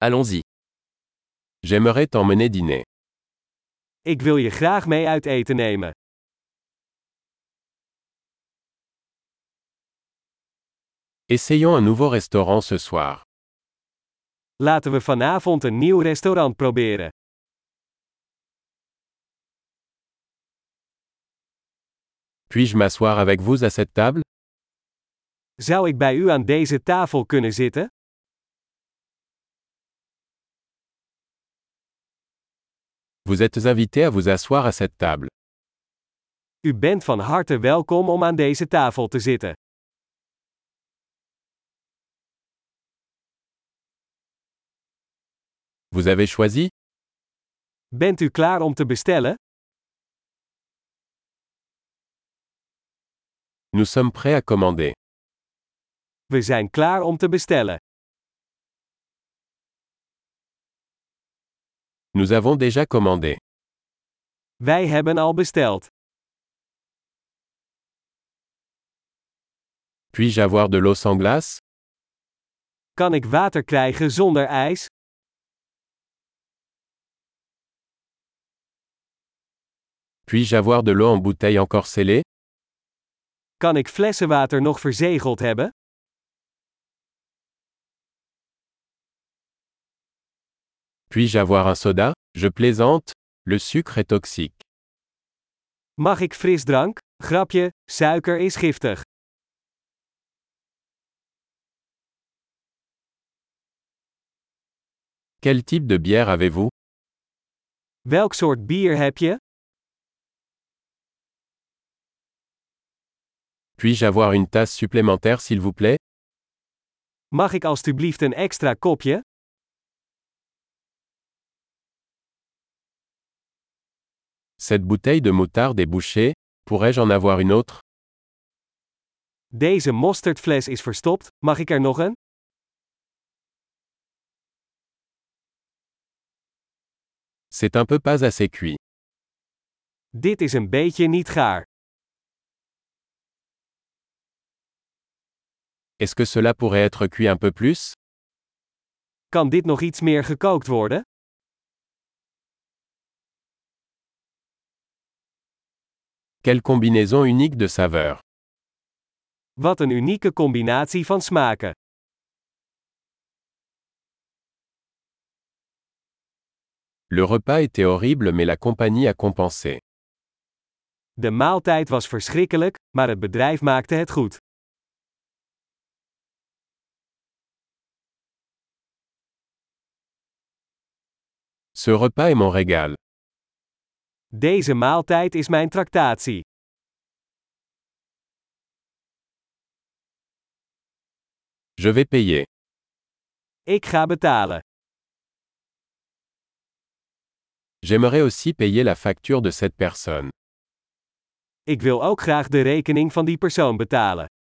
Allons-y. J'aimerais t'emmener dîner. Ik wil je graag mee uit eten nemen. Essayons un nouveau restaurant ce soir. Laten we vanavond een nieuw restaurant proberen. Puis-je m'asseoir avec vous à cette table? Zou ik bij u aan deze tafel kunnen zitten? Vous êtes invité à vous asseoir à cette table. U bent van harte welkom om aan deze tafel te zitten. Vous avez choisi? Bent u klaar om te bestellen? Nous sommes prêts à commander. We zijn klaar om te bestellen. Nous avons déjà commandé. Wij hebben al besteld. Puis-je avoir de l'eau sans glace? Kan ik water krijgen zonder ijs? Puis-je avoir de l'eau en bouteille encore scellée? Kan ik flessenwater nog verzegeld hebben? Puis-je avoir un soda? Je plaisante, le sucre est toxique. Mag ik frisdrank? Grapje, suiker is giftig. Quel type de bière avez-vous? Welk soort bier heb je? Puis-je avoir une tasse supplémentaire s'il vous plaît? Mag ik alstublieft een extra kopje? Cette bouteille de moutarde est bouchée, pourrais-je en avoir une autre? Deze mosterdfles is verstopt, mag ik er nog een? C'est un peu pas assez cuit. Dit is een beetje niet gaar. Est-ce que cela pourrait être cuit un peu plus? Kan dit nog iets meer gekookt worden? Quelle combinaison unique de saveurs. Wat een unieke combinatie van smaken. Le repas était horrible mais la compagnie a compensé. De maaltijd was verschrikkelijk, maar het bedrijf maakte het goed. Ce repas est mon régal. Deze maaltijd is mijn tractatie. Je vais payer. Ik ga betalen. J'aimerais aussi payer la facture de cette personne. Ik wil ook graag de rekening van die persoon betalen.